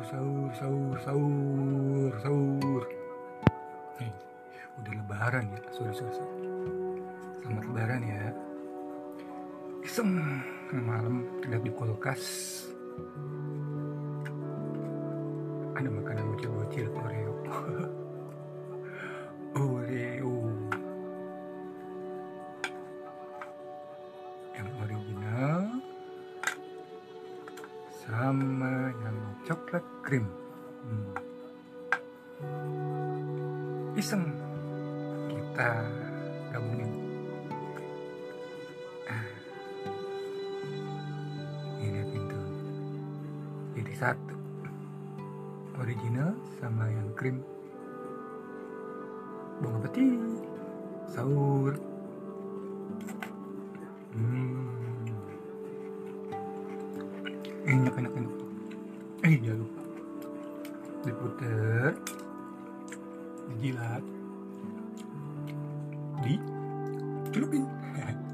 sahur. Nih, udah lebaran ya. Sorry. Selamat lebaran ya. Iseng malam lihat di kulkas ada makanan bocil-bocil Oreo. Yang original sama yang coklat krim. Iseng kita gabungin. Ini pintu jadi satu, original sama yang krim. Bon appetit, sahur. Enak. Jangan lupa diputer, dijilat, dicelupin.